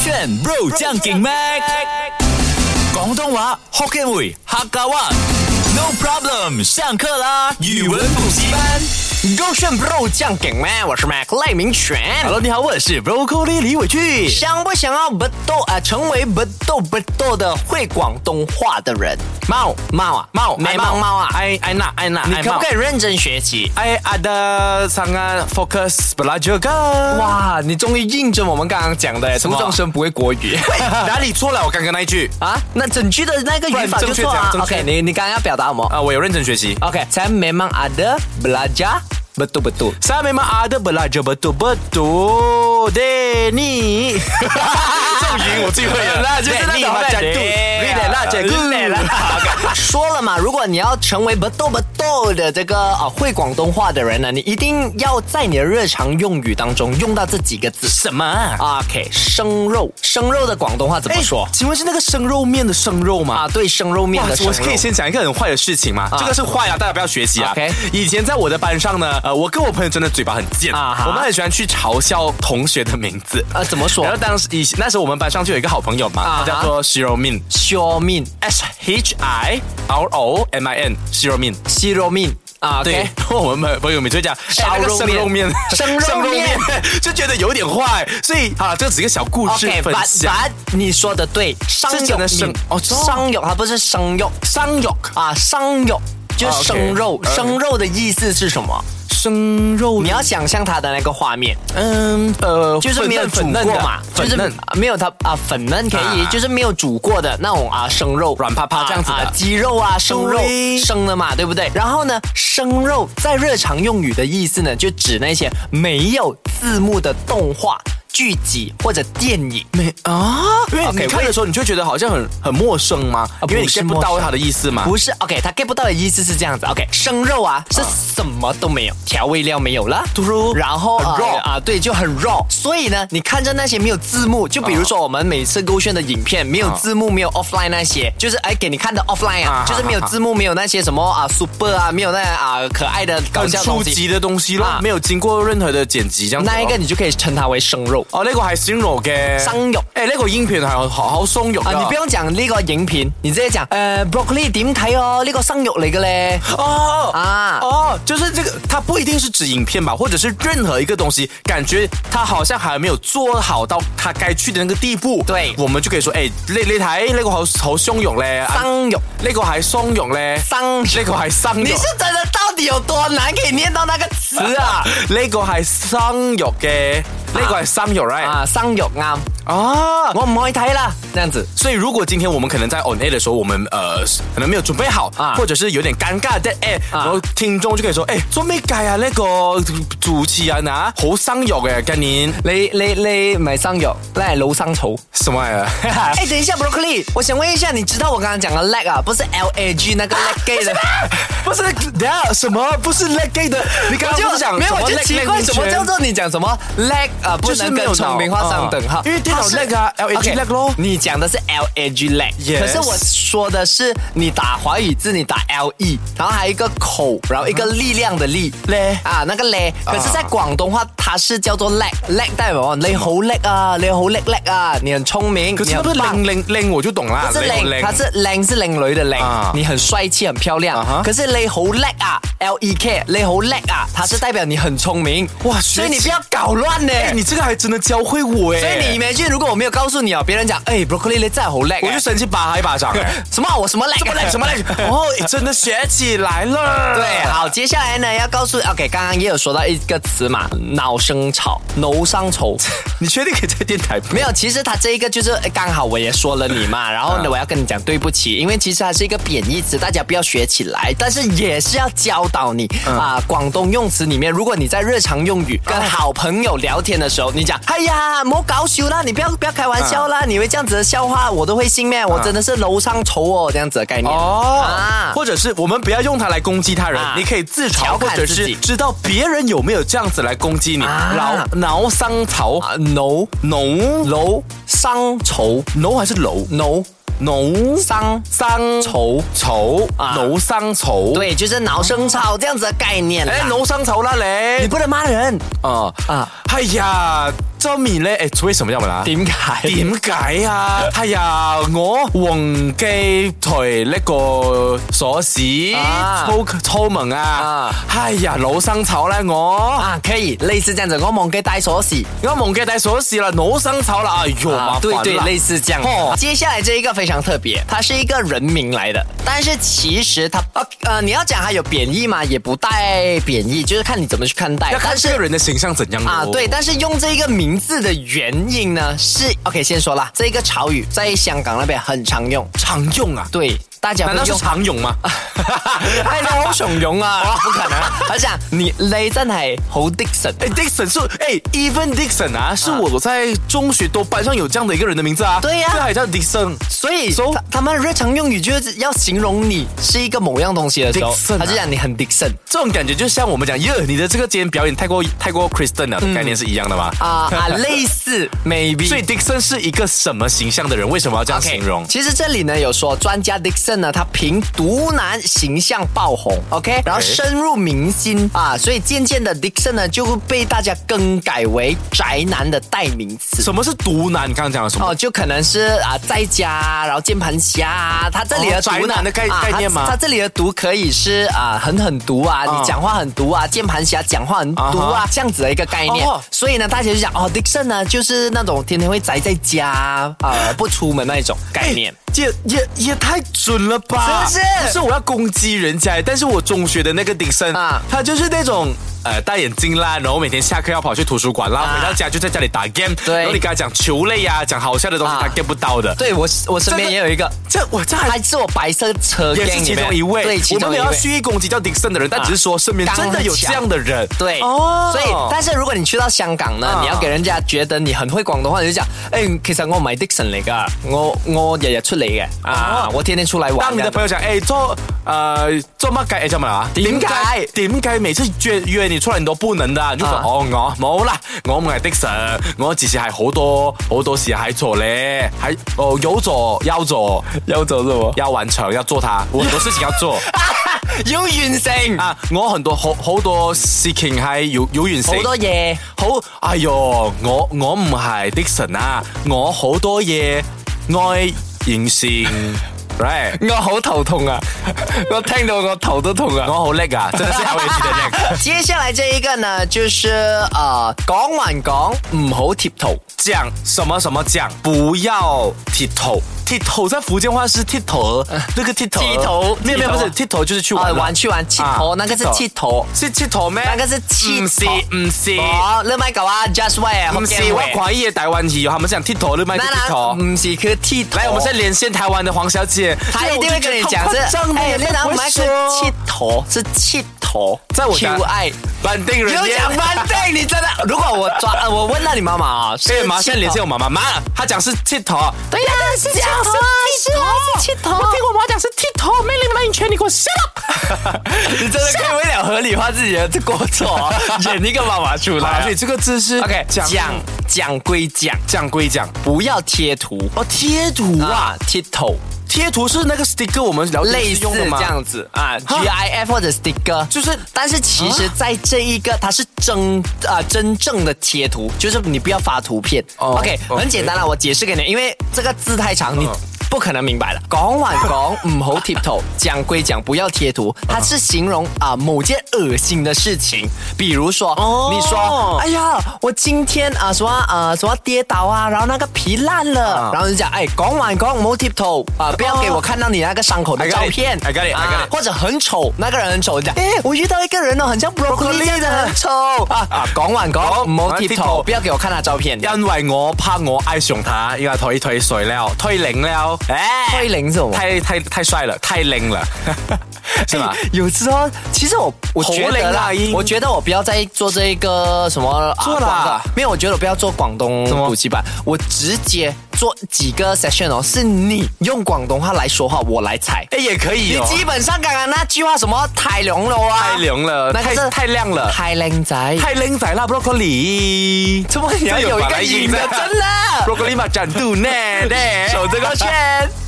炫 Bro 將勁 Mac 廣東話 Hokkien 會客家話 No problem 上課啦語文補習班勾炫 Bro 酱梗咩？我是 Mac 赖明全。 Hello， 你好，我是 Broccoli 李伟俊。 想不想要成为不斗的会广东话的人？ 猫没猫啊！ 爱那， 你可不可以认真学习？ ada sangat fokus belajar kan？ 哇，你终于印证我们刚刚讲的，初中生不会国语。 哪里错了？我刚刚那一句啊，那整句的那个语法就错啊。OK， 你刚刚要表达什么？ 我有认真学习。 OK， saya memang ada belajar betul-betul. Saya memang ada belajar betul-betul. Denny， 这种语我最会了， 那就是那种说了嘛，如果你要成为不斗的这个会广东话的人呢，你一定要在你的日常用语当中用到这几个字。 什么 ？OK， 生肉的广东话怎么说？ 请问是那个生肉面的生肉吗？ 啊，对，生肉面的生肉。 我可以先讲一个很坏的事情吗？这个是坏啊，大家不要学习啊。 OK， 以前在我的班上呢，我跟我朋友真的嘴巴很贱啊，我们很喜欢去嘲笑同学的名字。 怎么说？ 然后那时候我们班上就有一个好朋友嘛，他叫做西肉面 SHIROMIN 西肉面。 啊， 对，我们朋友每次会讲烧肉面， 生肉面，就觉得有点坏，所以好了，这只是一个小故事分享。 你说的对，商肉商肉，它不是生肉， 商肉啊，商肉就是生肉，生肉的意思是什么？ 生肉， 你要想象它的那个画面，就是没有煮过嘛，就是没有它粉嫩可以，就是没有煮过的那种生肉， 软趴趴这样子的鸡肉啊，生肉生的嘛，对不对？然后呢，生肉在日常用语的意思呢，就指那些没有字幕的动画剧集或者电影。 因为你看的时候，你就觉得好像很陌生吗？因为你 get 不到它的意思嘛。 不是 ，OK， 他 get 不到的意思是这样子。OK， 生肉是什么都没有，调味料没有了，然后很 raw 对，就很 raw。所以呢，你看着那些没有字幕，就比如说我们每次勾选的影片没有字幕，没有 offline 那些，就是给你看的 offline 就是没有字幕，没有那些什么super 没有那可爱的搞笑东西， 很初级的东西咯，没有经过任何的剪辑这样子。 那一个你就可以稱它為生肉。 呢個係生肉嘅。 生肉。 呢個影片係好鬆肉你不用講呢個影片，你直接講broccoli 點睇哦？呢個生肉嚟嘅咧。 就是這個，它不一定是指影片吧，或者是任何一個東西，感覺它好像還沒有做好到它該去的那個地步。 對， 我們就可以說，你睇呢個好鬆肉咧， 生肉， 呢個係鬆肉咧，呢個係生肉。 你是真的到底有多難可以念到那個詞啊？ 呢個係生肉嘅。呢個係生肉 right？ 生肉啱。我唔可以睇啦，這樣子。 所以如果今天我們可能在 on air 的時候，我們可能沒有準備好，或者是有點尷尬的然後聽眾就可以說，做咩計啊？呢個主持人好生肉嘅，今年你唔係生肉，你係老生草。 什麼啊？ 等一下 broccoli， 我想問一下，你知道我剛剛講的 leg 不是 LAG 那個 leg gay 的？ 不是，等下什麼不是 leg gay 的？你剛剛不是講沒有，我就奇怪，什麼叫做你講什麼 leg 不能跟聰明畫上等號？ 因為電腦 leg LAG leg 咯。 你講的是 LAG leg， 可是我說的是你打華語字，你打 LE， 然後還有一個口，然後一個力量的力那個咧。可是在廣東話，它是叫做 leg 代表你好叻啊，你好叻啊，你很聰明。 可是不是靚我就懂啦。 不是靚，它是靚是靚女的靚，你很帥氣很漂亮。可是你好叻啊 ，LEK 你好叻啊，它是代表你很聰明。哇，所以你不要搞亂呢。 你這個還真的教會我所以你imagine如果我沒有告訴你別人講broccoli 你真係好叻， 我就生氣打他一巴掌。 什麼我什麼叻？ 什麼叻？真的學起來了。 對，好，接下來呢要告訴OK，剛剛也有說到一個詞嘛，腦生草。 你確定可以在電台？ 沒有，其實它這一個就是剛好我也說了你嘛，然後呢我要跟你講對不起，因為其實它是一個貶義詞，大家不要學起來，但是也是要教導你廣東用詞裡面，如果你在日常用語跟好朋友聊天的時候，你講哎呀唔好搞笑啦，你不要開玩笑啦，你以為這樣子的笑話我都會信咩？我真的是樓上醜哦，這樣子的概念或者是我們不要用它來攻擊他人，你可以自嘲，或者是知道別人有沒有這樣子來攻擊你。腦生草腦生草腦還是樓腦生草腦生草， 對，就是腦生草這樣子的概念。 腦生草啦你不能罵人哎呀， 周米咧，為什麼要問啊？ 點解啊？哎呀，我忘記退呢個鎖匙，出門啊！哎呀，老生吵啦我可以類似這樣子，我忘記帶鎖匙了，老生吵了，哎呦，麻煩了。 對，類似這樣。接下來這一個非常特別，它是一個人名來的，但是其實它你要講它有貶義嘛，也不帶貶義，就是看你怎麼去看待。 要看這個人的形象怎樣啊？ 對，但是用這個名字的原因呢，是 OK， 先說啦，這個潮語在香港那邊很常用， 啊？ 對。大家難道是常用嗎？ 你好常用啊！不可能。我想你真係好 Dixon。 Dixon 是even Dixon 啊，是我在中學都班上有這樣的一個人的名字啊。 對呀， 這還叫 Dixon。 所以他們日常用語就是要形容你是一個某樣東西的時候，他就講你很 Dixon。 這種感覺就像我們講，你的這個今天表演太過 Kristen 了的概念是一樣的嗎？ 類似 maybe。 所以 Dixon 是一個什麼形象的人？為什麼要這樣形容？ 其實這裡呢有說專家 Dixon。他憑毒男形象爆紅 ，OK， 然後深入民心所以漸漸的 Dixon 呢就會被大家更改為宅男的代名詞。 什麼是毒男？你剛剛講了什麼？ 就可能是在家，然後鍵盤俠。他這裡的毒宅男的概念嗎？ 他這裡的毒可以是很毒啊，你講話很毒啊，鍵盤俠講話很毒啊，這樣子的一個概念。所以呢，大家就講Dixon 呢就是那種天天會宅在家不出門那一種概念。 也太準了吧！ 是不是？ 不是我要攻擊人家，但是我中學的那個Dixon他就是那種戴眼鏡啦，然後每天下課要跑去圖書館啦，回到家就在家裡打 game。對，然後你跟他講球類啊，講好笑的東西，他 get 不到的。 對，我身邊也有一個，這還是我白色車 gang 也是其中一位。 對， 我們沒有蓄意攻擊叫Dixon的人，但只是說身邊真的有這樣的人。 對，所以但是如果你去到香港呢，你要給人家覺得你很會廣東話，你就講，其實我唔係Dixon嚟㗎，我日日出嚟嘅我天天出來玩。 當你的朋友講，做乜計？做乜啊？點解每次約你出來你都不能的？你就說我冇啦，我唔係Dixon，我只是係好多事喺做咧，有做是什麼？要完成，要做它，我很多事情要做， 要完成啊！ 我很多好多事情係要完成， 好多嘢。 哎呦，我唔係Dixon啊，我好多嘢愛完成。Right. 我好頭痛啊！我聽到我頭都痛啊！ 我好叻啊，真的是好有趣的叻。 接下來這一個呢，就是講還講唔好貼圖， 講什麼講，不要貼圖。剃頭在福建話是剃頭，那個剃頭，沒有不是剃頭就是去玩去玩剃頭，那個是剃頭， 是剃頭咩？ 那個是剃頭， 唔是。 你咪講啊 ，just way， 唔是，我懷疑台灣語，他們是講剃頭，你咪剃頭， 唔是佢剃頭。 來，我們現在連線台灣的黃小姐， 她一定會跟你講你哪唔係剃頭，是剃頭， 在我家愛板定人， 有講板定，你真的，如果我問到你媽媽啊， 可以馬上連線我媽媽，媽，她講是剃頭， 對呀，是這樣。是剃頭， 我聽我媽講是剃頭，沒領完錢你給我下。 你真的可以為了合理化自己的過錯，演一個媽媽出來。 所以這個字是 OK，講歸講，不要貼圖。 貼圖啊， 貼頭。 貼圖是那個 sticker，我們類似這樣子啊 ，GIF 或者 sticker，就是，但是其實在這一個它是真正的貼圖，就是你不要發圖片。OK，很簡單啦，我解釋給你，因為這個字太長，你不可能明白了。講還講唔好貼圖，講歸講不要貼圖，它是形容某件惡心的事情，比如說你說，哎呀，我今天什麼跌倒啊，然後那個皮爛了，然後你講，講還講唔好貼圖不要給我看到你那個傷口的照片。I got it. 或者很醜，那個人很醜，你講，我遇到一個人很像 broccoli 這樣的很醜講還講唔好貼圖，不要給我看他照片。 因為我怕我愛上他，因為退水了，退零了。 退零是什麼？ 太帥了，太靈了，是嗎？ 有時候其實我覺得啦，我覺得我不要再做這個什麼做了，沒有，我覺得我不要做廣東補習班，我直接做幾個 session 是你用廣東話來說話，我來猜。也可以。你基本上剛剛那句話什麼太濃了啊， 太濃了，太亮了， 太靚仔， 太靚仔啦 ，broccoli，怎麼你要有一個影的，真的 ，broccoli 嘛，展度呢，守這個圈。